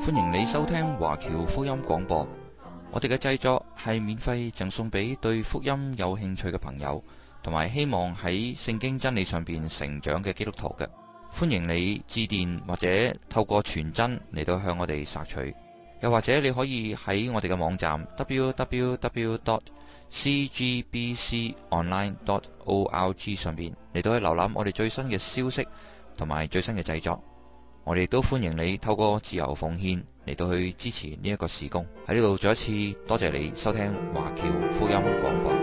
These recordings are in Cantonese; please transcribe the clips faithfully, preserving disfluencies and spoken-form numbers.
歡迎你收聽華僑福音廣播。我哋嘅製作係免費贈送俾對福音有興趣嘅朋友，同埋希望喺聖經真理上邊成長嘅基督徒嘅。歡迎你致電或者透過傳真嚟到向我哋索取，又或者你可以喺我哋嘅網站 double-u double-u double-u dot c g b c online dot org 上邊嚟到去瀏覽我哋最新嘅消息同埋最新嘅製作。我哋都歡迎你透過自由奉獻嚟到去支持呢一個事工。喺呢度再一次多謝你收聽華僑福音廣播。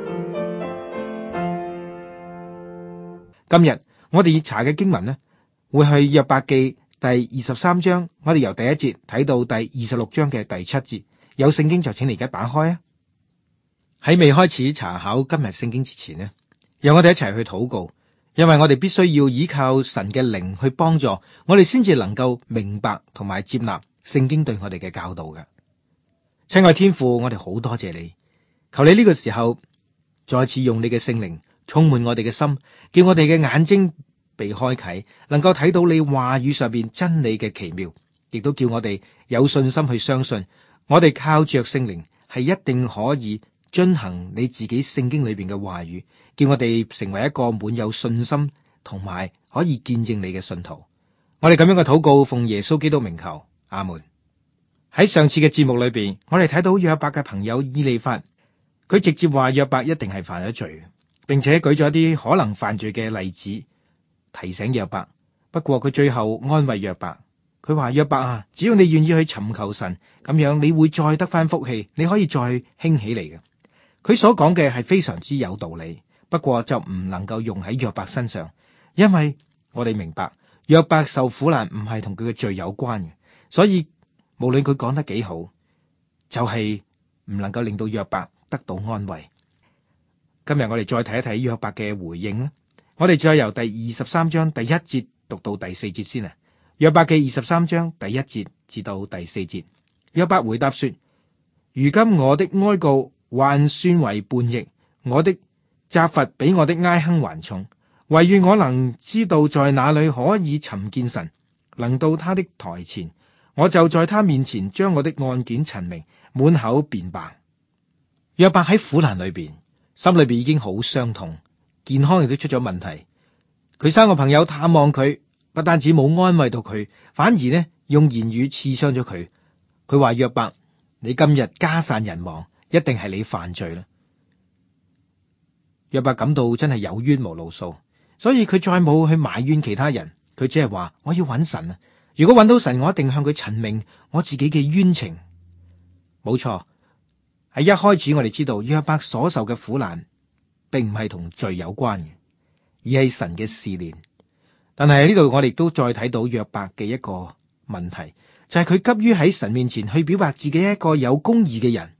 今日我哋查嘅經文呢，會去約伯記第二十三章，我哋由第一節睇到第二十六章嘅第七節。有聖經就請你而家打開啊！喺未開始查考今日聖經之前呢，讓我哋一齊去禱告，因為我哋必須要依靠神嘅靈去幫助我哋，先至能夠明白同埋接納聖經對我哋嘅教導嘅。親愛天父，我哋好多謝你，求你呢個時候再次用你嘅聖靈充滿我哋嘅心，叫我哋嘅眼睛被開啟，能夠睇到你話語上邊真理嘅奇妙，亦都叫我哋有信心去相信，我哋靠着聖靈係一定可以遵行你自己聖經裏邊嘅話語，叫我哋成為一個滿有信心同埋可以見證你嘅信徒。我哋咁樣嘅禱告奉耶穌基督名求，阿門。喺上次嘅節目裏邊，我哋睇到約伯嘅朋友以利法，佢直接話約伯一定係犯咗罪，並且舉咗一啲可能犯罪嘅例子提醒約伯。不過佢最後安慰約伯，佢話約伯啊，只要你願意去尋求神，咁樣你會再得翻福氣，你可以再興起嚟嘅。佢所講嘅係非常之有道理，不過就唔能夠用喺約伯身上，因為我哋明白約伯受苦難唔係同佢嘅罪有關嘅，所以無論佢講得幾好，就係唔能夠令到約伯得到安慰。今日我哋再睇一睇約伯嘅回應啦。我哋再由第二十三章第一節讀到第四節先啊。約伯記二十三章第一節至到第四節，約伯回答說：如今我的哀告還算為叛逆，我的責罰比我的哀哼還重，惟願我能知道在哪裡可以尋見神，能到他的台前，我就在他面前將我的案件陳明，滿口辯白。約伯喺苦難裏邊，心裏邊已經好傷痛，健康亦都出咗問題。佢三個朋友探望佢，不單止冇安慰到佢，反而呢用言語刺傷咗佢。佢話約伯，你今日家散人亡，一定係你犯罪啦。約伯感到真係有冤無路訴，所以佢再冇去埋怨其他人，佢只係話我要揾神啊！如果揾到神，我一定向佢陳明我自己嘅冤情。冇錯，喺一開始我哋知道約伯所受嘅苦難，並唔係同罪有關嘅，而係神嘅試煉。但係喺呢度我哋都再睇到約伯嘅一個問題，就係佢急於喺神面前去表白自己一個有公義嘅人。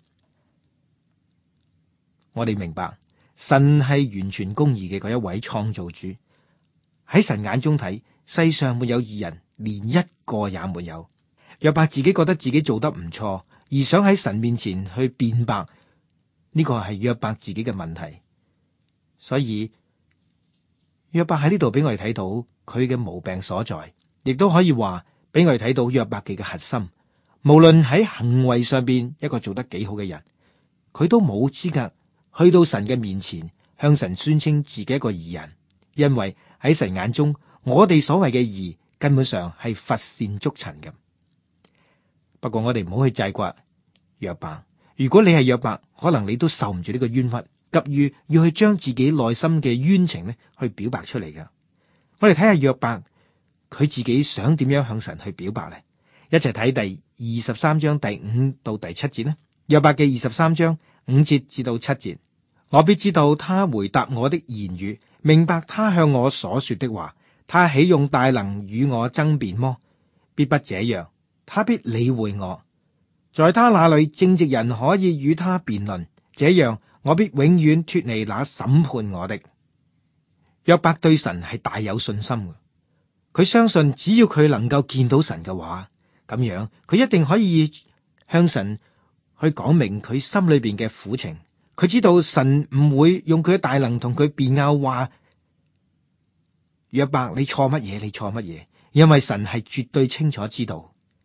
我哋明白神係完全公義嘅嗰一位創造主，喺神眼中睇，世上沒有義人，連一個也沒有。約伯自己覺得自己做得唔錯，而想喺神面前去辯白，呢個係約伯自己嘅問題。所以約伯喺呢度俾我哋睇到佢嘅毛病所在，亦都可以話俾我哋睇到約伯記嘅核心。無論喺行為上邊一個做得幾好嘅人，佢都冇資格去到神嘅面前向神宣稱自己一個義人，因為喺神眼中，我哋所謂嘅義根本上係乏善足陳嘅。不過我哋唔好去責怪約伯，如果你係約伯，可能你都受唔住呢個冤屈，急於要去將自己內心嘅冤情呢去表白出嚟㗎。我哋睇下約伯佢自己想點樣向神去表白呢？一齊睇第二十三章第五到第七節呢。約伯記二十三章五節至到七節，我必知道他回答我的言語，明白他向我所說的話。他豈用大能與我爭辯麼？必不這樣，他必理會我。在他那裡正直人可以與他辯論，這樣我必永遠脫離那審判我的。約伯對神係大有信心嘅，佢相信只要佢能夠見到神嘅話，咁樣佢一定可以向神去講明佢心裏邊嘅苦情。佢知道神唔會用佢嘅大能同佢辯拗，話約伯你錯乜嘢，你錯乜嘢，因為神係絕對清楚知道。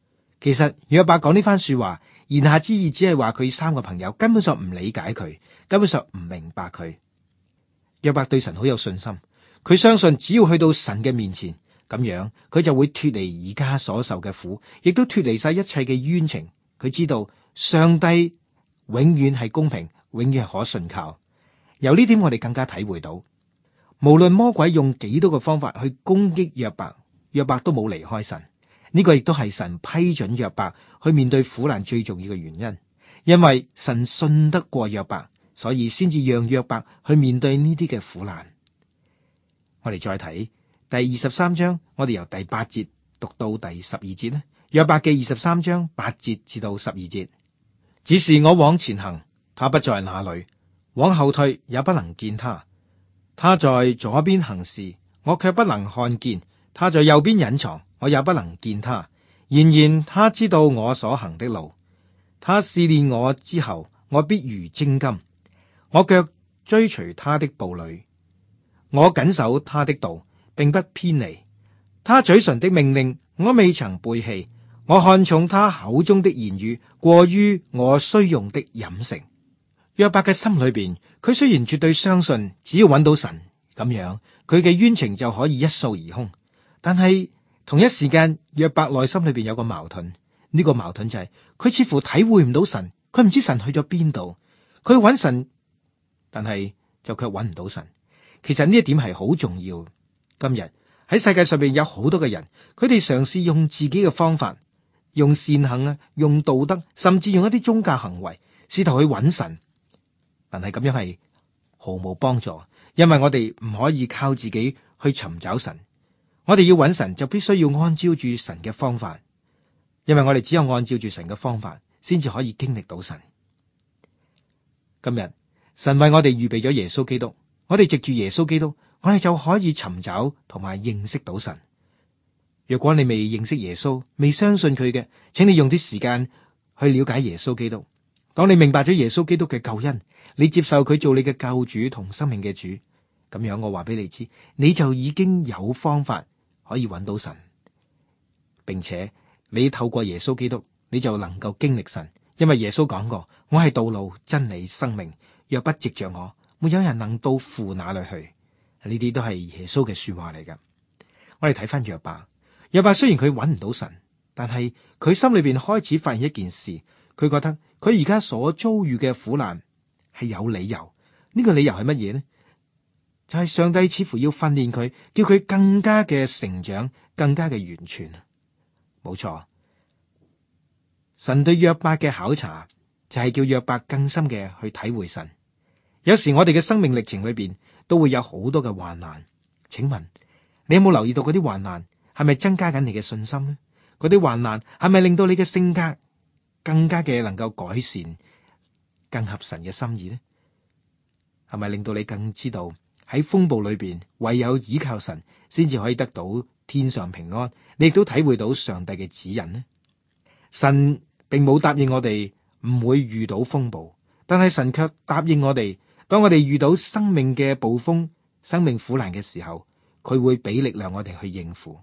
其實約伯講呢番說話，言下之意只係話佢三個朋友根本上唔理解佢，根本上唔明白佢。約伯對神好有信心，佢相信只要去到神嘅面前，咁樣佢就會脫離而家所受嘅苦，亦都脫離晒一切嘅冤情。佢知道上帝永遠係公平，永遠係可信靠。由呢點我哋更加體會到，無論魔鬼用幾多個方法去攻擊約伯，約伯都冇離開神。呢個亦都係神批准約伯去面對苦難最重要嘅原因，因為神信得過約伯，所以先至讓約伯去面對呢啲嘅苦難。我哋再睇第二十三章，我哋由第八節讀到第十二節呢。約伯記二十三章八節至到十二節，只是我往前行，他不在那裡；往後退，也不能見他。他在左邊行事，我卻不能看見；他在右邊隱藏，我也不能見他。然然他知道我所行的路，他試煉我之後，我必如精金。我腳追隨他的步履，我謹守他的道，並不偏離。他嘴唇的命令，我未曾背棄。我看重他口中的言語，過於我需用的飲食。約伯嘅心裏邊，佢雖然絕對相信，只要揾到神，咁樣佢嘅冤情就可以一掃而空。但係同一時間，約伯內心裏邊有個矛盾，呢個矛盾就係佢似乎體會唔到神，佢唔知神去咗邊度，佢揾神，但係就卻揾唔到神。其實呢一點係好重要。今日喺世界上邊有好多嘅人，佢哋嘗試用自己嘅方法，用善行啊，用道德，甚至用一啲宗教行為，試圖去揾神。但係咁樣係毫無幫助，因為我哋唔可以靠自己去尋找神。我哋要揾神，就必須要按照住神嘅方法，因為我哋只有按照住神嘅方法，先至可以經歷到神。今日神為我哋預備咗耶穌基督，我哋藉住耶穌基督，我哋就可以尋找同埋認識到神。若果你未認識耶穌，未相信佢嘅，請你用啲時間去了解耶穌基督。當你明白咗耶穌基督嘅救恩，你接受佢做你嘅救主同生命嘅主，咁樣我話俾你知，你就已經有方法可以揾到神，並且你透過耶穌基督，你就能夠經歷神。因為耶穌講過，我係道路、真理、生命，若不藉着我，沒有人能到父那裡去。呢啲都係耶穌嘅說話嚟㗎。我哋睇翻約伯，約伯雖然佢揾唔到神，但係佢心裏邊開始發現一件事，佢覺得佢而家所遭遇嘅苦難係有理由。呢個理由係乜嘢呢？就係上帝似乎要訓練佢，叫佢更加嘅成長，更加嘅完全。冇錯，神對約伯嘅考察就係叫約伯更深嘅去體會神。有時我哋嘅生命歷程裏邊都會有好多嘅患難，請問你有冇留意到嗰啲患難係咪增加緊你嘅信心呢？嗰啲患難係咪令到你嘅性格更加嘅能夠改善，更合神嘅心意呢？係咪令到你更知道喺風暴裏邊唯有依靠神，先至可以得到天上平安？你亦都體會到上帝嘅指引呢？神並冇答應我哋唔會遇到風暴，但係神卻答應我哋，當我哋遇到生命嘅暴風、生命苦難嘅時候，佢會俾力量我哋去應付。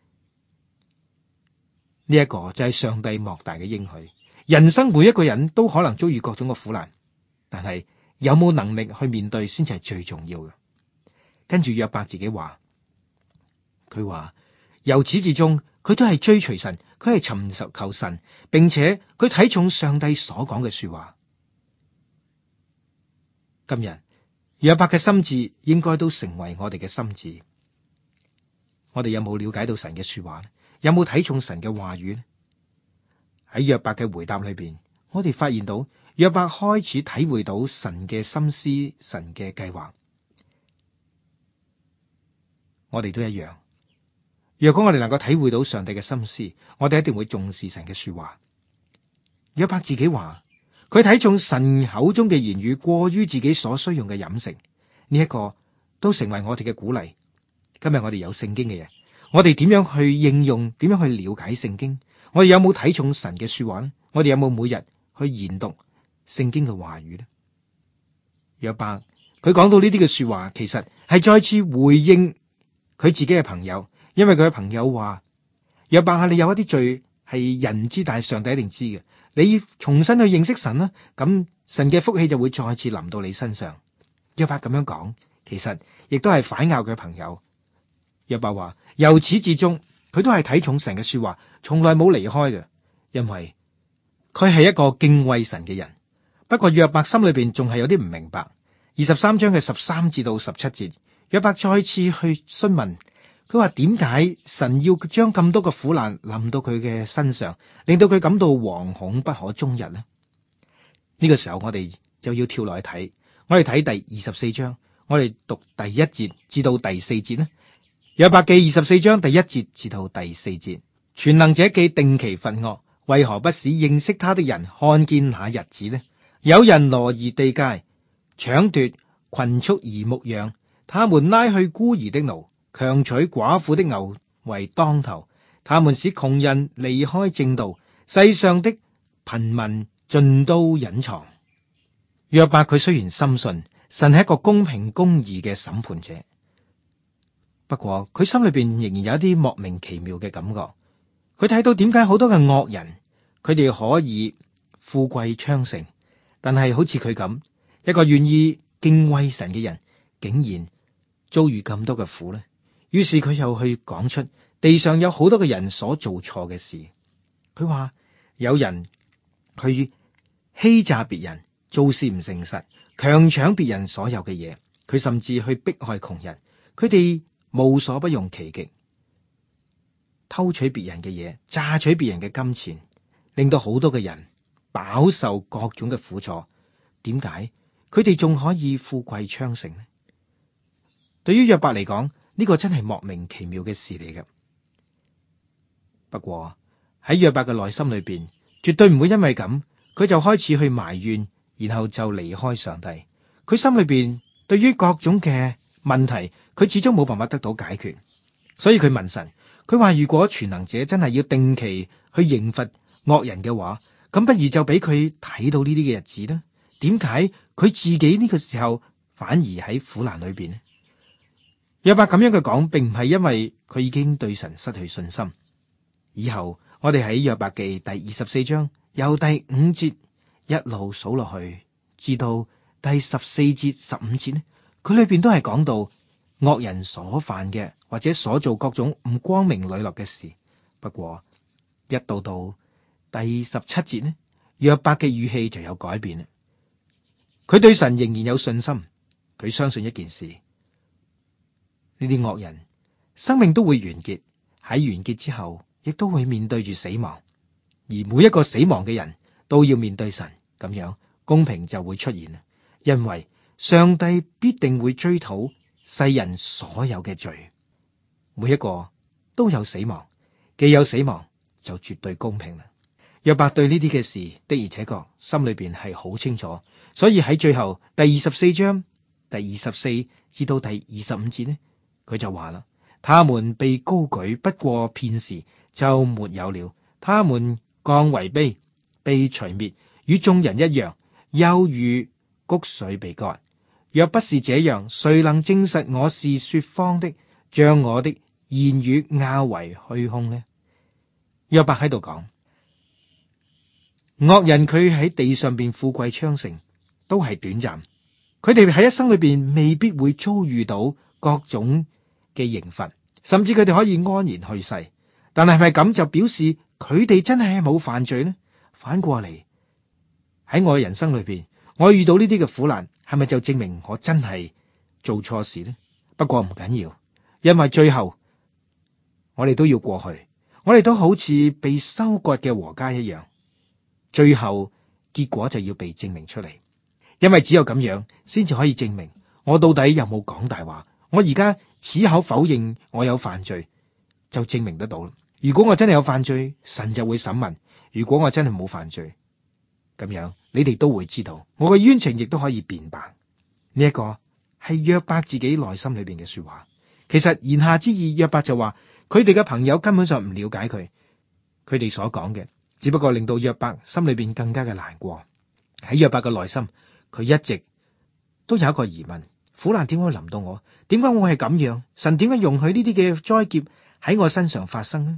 呢一個就係上帝莫大嘅應許。人生每一個人都可能遭遇各種嘅苦難，但係有冇能力去面對先至係最重要嘅。跟住約伯自己話，佢話由始至終佢都係追隨神，佢係尋求求神，並且佢睇重上帝所講嘅說話。今日約伯嘅心志應該都成為我哋嘅心志。我哋有冇了解到神嘅說話呢？有冇睇重神嘅話語呢？喺約伯嘅回答裏邊，我哋發現到約伯開始體會到神嘅心思、神嘅計劃。我哋都一樣。若果我哋能夠體會到上帝嘅心思，我哋一定會重視神嘅說話。約伯自己話，佢睇重神口中嘅言語，過於自己所需用嘅飲食。呢一個都成為我哋嘅鼓勵。今日我哋有聖經嘅人，我哋點樣去應用？點樣去了解聖經？我哋有冇睇重神嘅說話呢？我哋有冇每日去研讀聖經嘅話語呢？約伯佢講到呢啲嘅說話，其實係再次回應佢自己嘅朋友，因為佢嘅朋友話：約伯啊，你有一啲罪係人唔知，但係上帝一定知嘅。你重新去認識神啦，咁神嘅福氣就會再次臨到你身上。約伯咁樣講，其實亦都係反咬佢嘅朋友。約伯話由始至終佢都係睇重神嘅說話，從來冇離開嘅，因為佢係一個敬畏神嘅人。不過約伯心裏邊仲係有啲唔明白。二十三章嘅十三至到十七節，約伯再次去詢問，佢話點解神要將咁多嘅苦難臨到佢嘅身上，令到佢感到惶恐不可終日呢？呢個時候我哋就要跳落去睇，我哋睇第二十四章，我哋讀第一節至到第四節呢。約伯記二十四章第一節至到第四節，全能者既定期罰惡，為何不使認識他的人看見那日子呢？有人挪移地界，搶奪群畜而牧養，他們拉去孤兒的驢，強取寡婦的牛為當頭。他們使窮人離開正道，世上的貧民盡都隱藏。約伯佢雖然深信神係一個公平公義嘅審判者，不過佢心裏邊仍然有一啲莫名其妙嘅感覺。佢睇到點解好多嘅惡人，佢哋可以富貴昌盛，但係好似佢咁一個願意敬畏神嘅人，竟然遭遇咁多嘅苦呢？於是佢又去講出地上有好多嘅人所做錯嘅事。佢話有人去欺詐別人，做事唔誠實，強搶別人所有嘅嘢。佢甚至去迫害窮人，佢哋無所不用其極，偷取別人嘅嘢，榨取別人嘅金錢，令到好多嘅人飽受各種嘅苦楚。點解佢哋仲可以富貴昌盛呢？對於約伯嚟講，呢個真係莫名其妙嘅事嚟嘅。不過喺約伯嘅內心裏邊，絕對唔會因為咁，佢就開始去埋怨，然後就離開上帝。佢心裏邊對於各種嘅問題，佢始終冇辦法得到解決，所以佢問神，佢話如果全能者真係要定期去刑罰惡人嘅話，咁不如就俾佢睇到呢啲嘅日子呢？點解佢自己呢個時候反而喺苦難裏邊呢？約伯咁樣嘅講，並唔係因為佢已經對神失去信心。以後我哋喺約伯記第二十四章由第五節一路數落去，至到第十四節十五節呢，佢裏邊都係講到惡人所犯嘅或者所做各種唔光明磊落嘅事。不過一到到第十七節呢，約伯嘅語氣就有改變啦。佢對神仍然有信心，佢相信一件事，呢啲惡人生命都會完結，喺完結之後亦都會面對住死亡，而每一個死亡嘅人都要面對神，咁樣公平就會出現啦。因為上帝必定會追討世人所有嘅罪，每一個都有死亡，既有死亡就絕對公平啦。約伯對呢啲嘅事的而且確心裏邊係好清楚，所以喺最後第二十四章第二十四至到第二十五節呢，佢就話啦：他們被高舉，不過片時就沒有了；他們降為卑，被除滅，與眾人一樣，又如穀穗被割。若不是這樣，誰能證實我是說謊的，將我的言語拗為虛空呢？約伯喺度講，惡人佢喺地上邊富貴昌盛都係短暫，佢哋喺一生裏邊未必會遭遇到各種嘅刑罰，甚至佢哋可以安然去世。但係係咪咁就表示佢哋真係冇犯罪呢？反過嚟，喺我嘅人生裏邊，我遇到呢啲嘅苦難，係咪就證明我真係做錯事呢？不過唔緊要，因為最後我哋都要過去，我哋都好似被收割嘅禾稼一樣，最後結果就要被證明出嚟。因為只有咁樣，先至可以證明我到底有冇講大話。我而家矢口否認我有犯罪，就證明得到啦。如果我真係有犯罪，神就會審問；如果我真係冇犯罪，咁樣你哋都會知道，我嘅冤情亦都可以辯白。呢一個係約伯自己內心裏邊嘅說話。其實言下之意，約伯就話佢哋嘅朋友根本上唔了解佢，佢哋所講嘅只不過令到約伯心裏邊更加嘅難過。喺約伯嘅內心，佢一直都有一個疑問：苦難點會臨到我？點解我係咁樣？神點解容許呢啲嘅災劫喺我身上發生呢？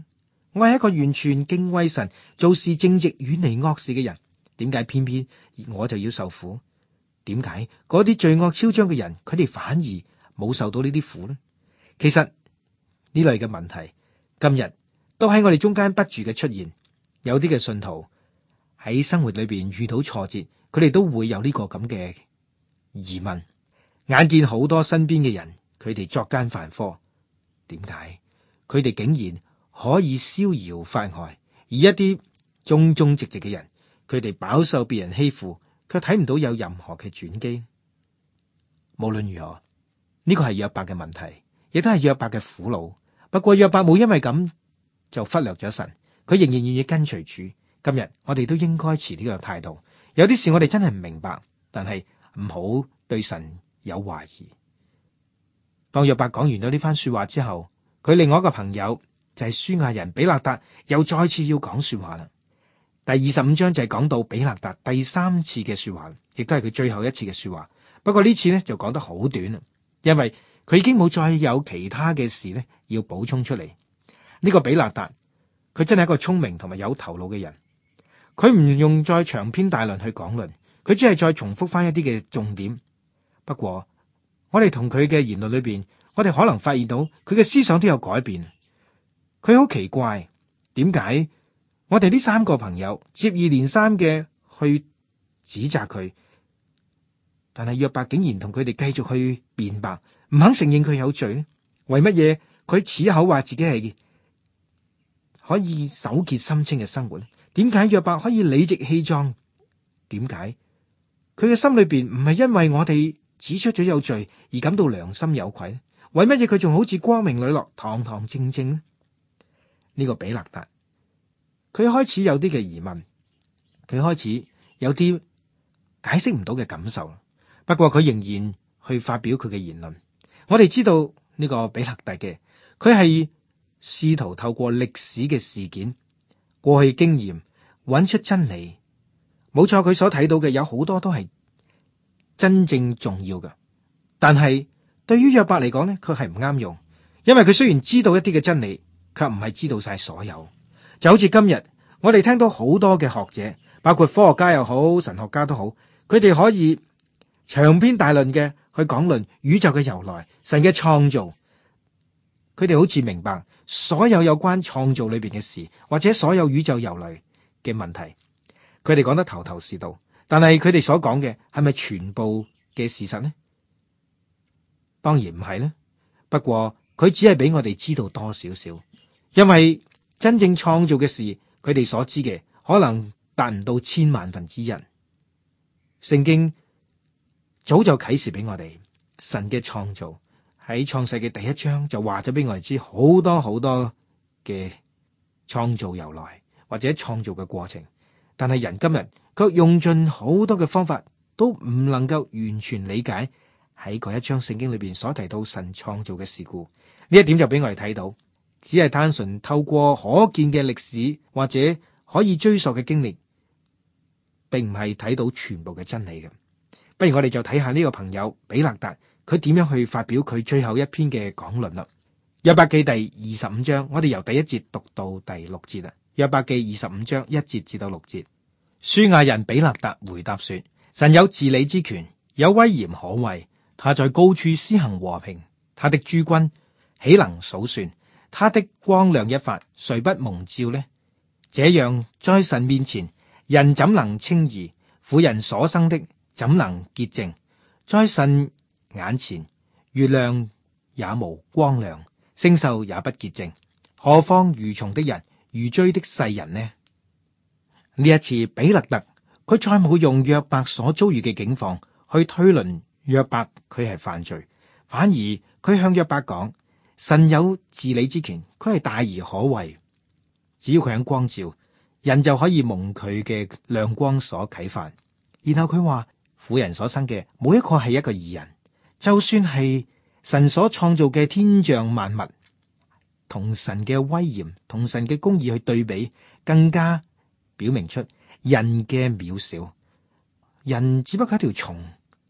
我係一個完全敬畏神、做事正直、遠離惡事嘅人，點解偏偏我就要受苦？點解嗰啲罪惡囂張嘅人，佢哋反而冇受到呢啲苦呢？其實呢類嘅問題，今日都喺我哋中間不住嘅出現。有啲嘅信徒喺生活裏邊遇到挫折，佢哋都會有呢個咁嘅疑問。眼見好多身邊嘅人，佢哋作奸犯科，點解佢哋竟然可以逍遙法外？而一啲忠忠直直嘅人，佢哋飽受別人欺負，卻睇唔到有任何嘅轉機。無論如何，呢個係約伯嘅問題，亦都係約伯嘅苦惱。不過約伯冇因為咁就忽略咗神。佢仍然願意跟隨主。今日我哋都應該持呢個態度。有啲事我哋真係唔明白，但係唔好對神有懷疑。當約伯講完咗呢番說話之後，佢另外一個朋友就係書亞人比勒達又再次要講說話啦。第二十五章就係講到比勒達第三次嘅說話，亦都係佢最後一次嘅說話。不過呢次呢就講得好短啦，因為佢已經冇再有其他嘅事呢要補充出嚟。呢、這個比勒達，佢真係一個聰明同埋有頭腦嘅人，佢唔用再長篇大論去講論，佢只係再重複翻一啲嘅重點。不過我哋同佢嘅言論裏邊，我哋可能發現到佢嘅思想都有改變。佢好奇怪，點解我哋呢三個朋友接二連三嘅去指責佢，但係約伯竟然同佢哋繼續去辯白，唔肯承認佢有罪呢？為乜嘢佢此口話自己係可以手潔心清嘅生活呢？點解約伯可以理直氣壯？點解佢嘅心裏邊唔係因為我哋指出咗有罪而感到良心有愧呢？為乜嘢佢仲好似光明磊落、堂堂正正呢？呢個比勒達，佢開始有啲嘅疑問，佢開始有啲解釋唔到嘅感受。不過佢仍然去發表佢嘅言論。我哋知道呢個比勒達嘅，佢係試圖透過歷史嘅事件、過去經驗揾出真理。冇錯，佢所睇到嘅有好多都係真正重要嘅，但係對於約伯嚟講呢，佢係唔啱用，因為佢雖然知道一啲嘅真理，卻唔係知道晒所有。就好似今日我哋聽到好多嘅學者，包括科學家又好、神學家都好，佢哋可以長篇大論嘅去講論宇宙嘅由來、神嘅創造。佢哋好似明白所有有關創造裏邊嘅事，或者所有宇宙由來嘅問題，佢哋講得頭頭是道。但係佢哋所講嘅係咪全部嘅事實呢？當然唔係呢。不過佢只係俾我哋知道多少少，因為真正創造嘅事，佢哋所知嘅可能達唔到千萬分之一。聖經早就啟示俾我哋神嘅創造。喺創世嘅第一章就話咗俾我哋知好多好多嘅創造由來或者創造嘅過程，但係人今日卻用盡好多嘅方法都唔能夠完全理解喺嗰一章聖經裏邊所提到神創造嘅事故。呢一點就俾我哋睇到，只係單純透過可見嘅歷史或者可以追溯嘅經歷，並唔係睇到全部嘅真理嘅。不如我哋就睇下呢個朋友比勒達，佢點樣去發表佢最後一篇嘅講論啦？約伯記第二十五章，我哋由第一節讀到第六節啦。約伯記二十五章一節至到六節，書亞人比勒達回答說：神有治理之權，有威嚴可畏，他在高處施行和平，他的諸軍豈能數算？他的光亮一發，誰不蒙照呢？這樣在神面前，人怎能稱義？婦人所生的怎能潔淨？在神眼前，月亮也無光亮，星宿也不潔淨，何況愚蟲的人、愚追的世人呢？呢一次比勒達佢再冇用約伯所遭遇嘅境況去推論約伯佢係犯罪，反而佢向約伯講：神有治理之權，佢係大而可畏，只要佢肯光照，人就可以蒙佢嘅亮光所啟發。然後佢話：婦人所生嘅冇一個係一個義人，就算係神所創造嘅天象萬物，同神嘅威嚴、同神嘅公義去對比，更加表明出人嘅渺小。人只不過係一條蟲，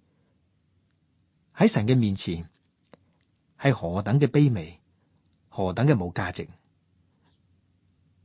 喺神嘅面前係何等嘅卑微，何等嘅冇價值。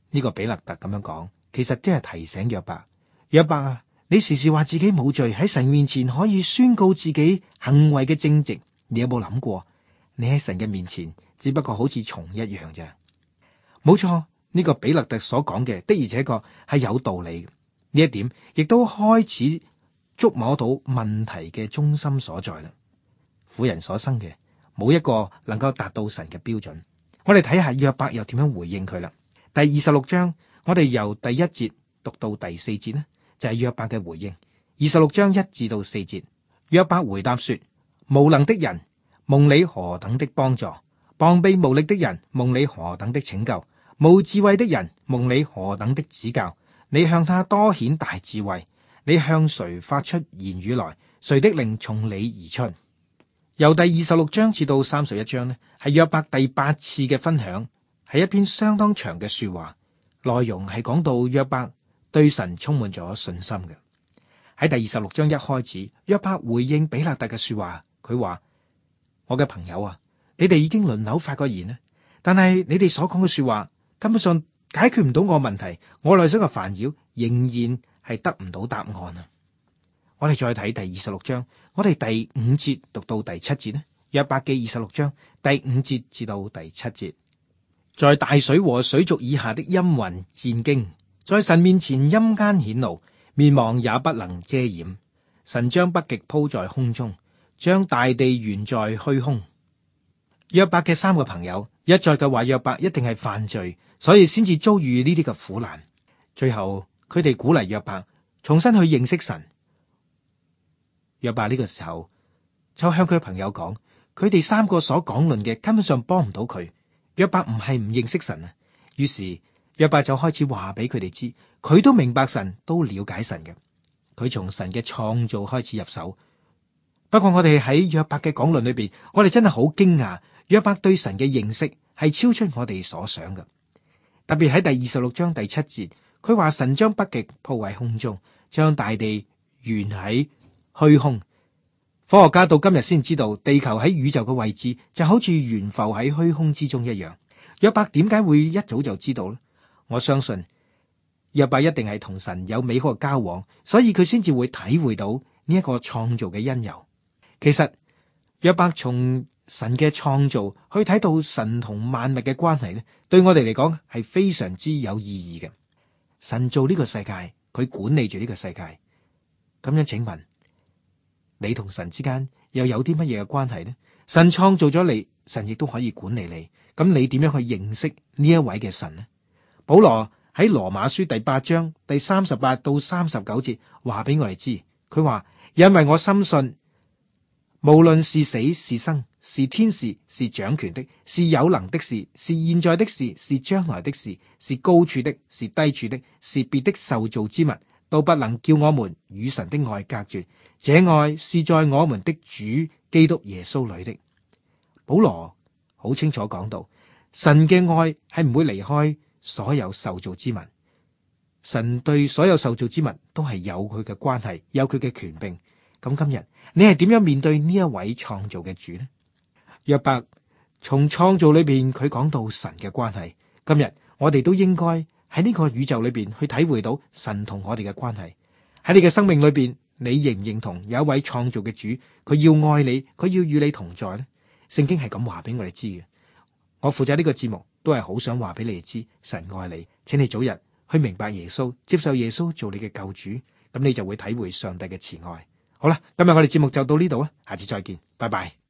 呢個比勒特咁樣講，其實即係提醒約伯：約伯啊，你時時話自己冇罪，喺神面前可以宣告自己行為嘅正直，你有冇諗過？你喺神嘅面前只不過好似蟲一樣啫。冇錯，呢個比勒特所講嘅的而且確係有道理嘅。呢一點亦都開始觸摸到問題嘅中心所在啦。婦人所生嘅冇一個能夠達到神嘅標準。我哋睇下約伯又點樣回應佢啦。第二十六章，我哋由第一節讀到第四節呢，就係約伯嘅回應。二十六章一至到四節，約伯回答說：無能的人，蒙你何等的幫助；膀臂無力的人，蒙你何等的拯救；無智慧的人，蒙你何等的指教。你向他多顯大智慧，你向誰發出言語來？誰的靈從你而出？由第二十六章至到三十一章呢，係約伯第八次嘅分享，係一篇相當長嘅說話，內容係講到約伯對神充滿咗信心嘅。喺第二十六章一開始，約伯回應比勒特嘅說話，佢話：我嘅朋友啊，你哋已經輪流發過言啦，但係你哋所講嘅說話根本上解決唔到我問題，我內心嘅煩擾仍然係得唔到答案啊！我哋再睇第二十六章，我哋第五節讀到第七節呢？約伯記二十六章第五節至到第七節，在大水和水族以下的陰雲戰驚，在神面前陰間顯露，面望也不能遮掩。神將北極鋪在空中，將大地懸在虛空。約伯嘅三個朋友一再嘅話約伯一定係犯罪，所以先至遭遇呢啲嘅苦難。最後佢哋鼓勵約伯重新去認識神。約伯呢個時候就向佢朋友講，佢哋三個所講論嘅根本上幫唔到佢。約伯唔係唔認識神啊，於是約伯就開始話俾佢哋知，佢都明白神，都了解神嘅。佢從神嘅創造開始入手。不過我哋喺約伯嘅講論裏邊，我哋真係好驚訝，約伯對神嘅認識係超出我哋所想嘅。特別喺第二十六章第七節，佢話神將北極鋪喺空中，將大地懸喺虛空。科學家到今日先知道，地球喺宇宙嘅位置就好似懸浮喺虛空之中一樣。約伯點解會一早就知道呢？我相信約伯一定係同神有美好嘅交往，所以佢先至會體會到呢一個創造嘅因由。其實約伯從神嘅創造去睇到神同萬物嘅關係咧，對我哋嚟講係非常之有意義嘅。神做呢個世界，佢管理住呢個世界。咁樣請問，你同神之間又有啲乜嘢嘅關係呢？神創造咗你，神亦都可以管理你。咁你點樣去認識呢一位嘅神呢？保羅喺羅馬書第八章第三十八到三十九節話俾我哋知，佢話：因為我深信，無論是死是生，是天使，是掌權的，是有能的事，是現在的事，是將來的事，是高處的，是低處的，是別的受造之物，都不能叫我們與神的愛隔絕。這愛是在我們的主基督耶穌裏的。保羅好清楚講到，神嘅愛係唔會離開所有受造之物。神對所有受造之物都係有佢嘅關係，有佢嘅權柄。咁今日你係點樣面對呢一位創造嘅主呢？約伯從創造裏邊佢講到神嘅關係，今日我哋都應該喺呢個宇宙裏邊去體會到神同我哋嘅關係。喺你嘅生命裏邊，你認唔認同有一位創造嘅主，佢要愛你，佢要與你同在呢？聖經係咁話俾我哋知嘅。我負責呢個節目都係好想話俾你哋知，神愛你，請你早日去明白耶穌，接受耶穌做你嘅救主，咁你就會體會上帝嘅慈愛。好啦，今日我哋節目就到呢度啊，下次再見，拜拜。